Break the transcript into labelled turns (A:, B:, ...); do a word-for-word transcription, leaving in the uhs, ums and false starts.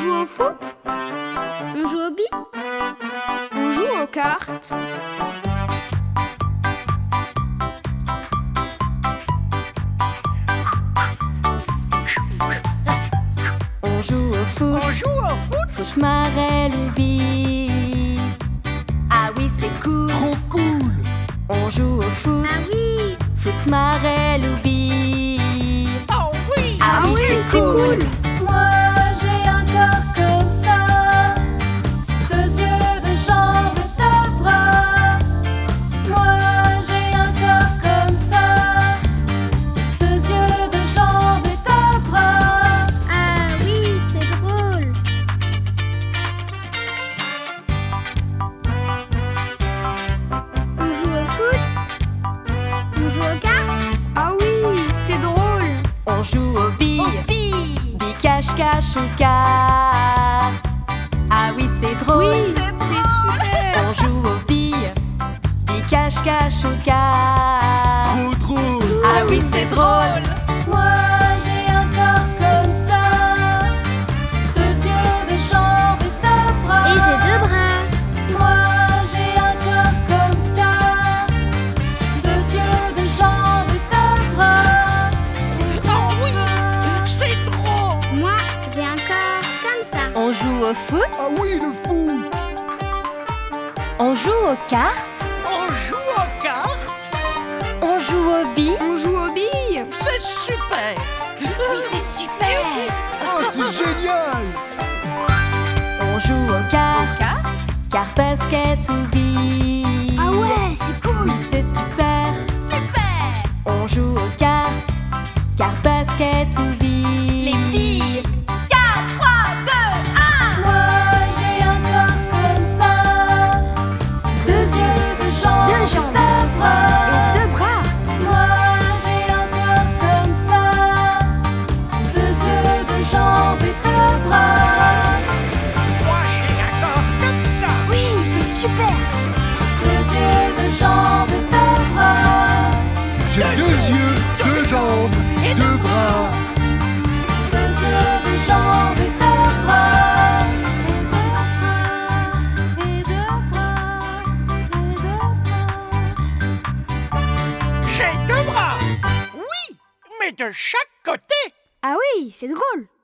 A: joue au foot? On joue au billes? On joue aux cartes?
B: On joue au foot.
C: On joue au foot.
B: Foot, marelle ou billes. Ah oui, c'est cool.
C: Trop cool.
B: On joue au foot.
A: Ah oui!
B: Foot, marelle ou billes.
C: Oh oui.
B: Ah oui, c'est cool.
D: Moi j'ai un corps comme ça, deux yeux, deux jambes, deux bras. Moi j'ai un corps comme ça, deux yeux, deux jambes et deux bras.
A: Ah oui, c'est drôle! On joue au foot? On joue aux cartes? Ah oui, c'est drôle!
B: On joue aux billes.
D: Aux billes.
B: Billes, cache-cache ou cartes. Ah oui, c'est drôle.
A: Oui, c'est super!
B: On joue aux billes. Billes, cache-cache ou cartes.
C: Trop drôle.
B: Ah oui, c'est drôle.
D: Moi j'ai un corps comme ça, deux yeux, deux jambes et deux bras.
A: Et j'ai deux bras!
D: Moi j'ai un corps comme ça, deux yeux, deux jambes et deux bras.
C: Oh oui. C'est drôle.
A: Moi, j'ai un corps comme ça!
B: On joue au foot.
C: Ah oui, le foot.
B: On joue aux cartes.
C: On joue aux cartes.
B: On joue aux billes.
A: On joue aux billes!
C: C'est super.
B: Oui, c'est super.
C: Oh, c'est génial.
B: On joue aux cartes. Cartes, basket ou billes.
A: Ah ouais, c'est cool!
B: Oui, c'est super.
D: Super.
B: On joue aux cartes. Cartes, basket ou billes.
D: Les billes. quatre, trois, deux, un. Moi j'ai un corps comme ça, deux yeux, deux jambes,
A: Deux jambes.
D: deux bras.
A: Et deux bras!
D: Moi j'ai un corps comme ça, deux yeux, deux jambes et deux bras.
C: Moi, j'ai un corps comme ça.
A: Oui, c'est super!
D: Deux yeux, deux jambes et deux bras.
C: J'ai deux yeux, deux jambes, deux bras.
D: Deux yeux, deux jambes et deux bras. Et deux bras, et deux bras.
C: J'ai deux bras. Oui, mais de chaque côté.
A: Ah oui, c'est drôle!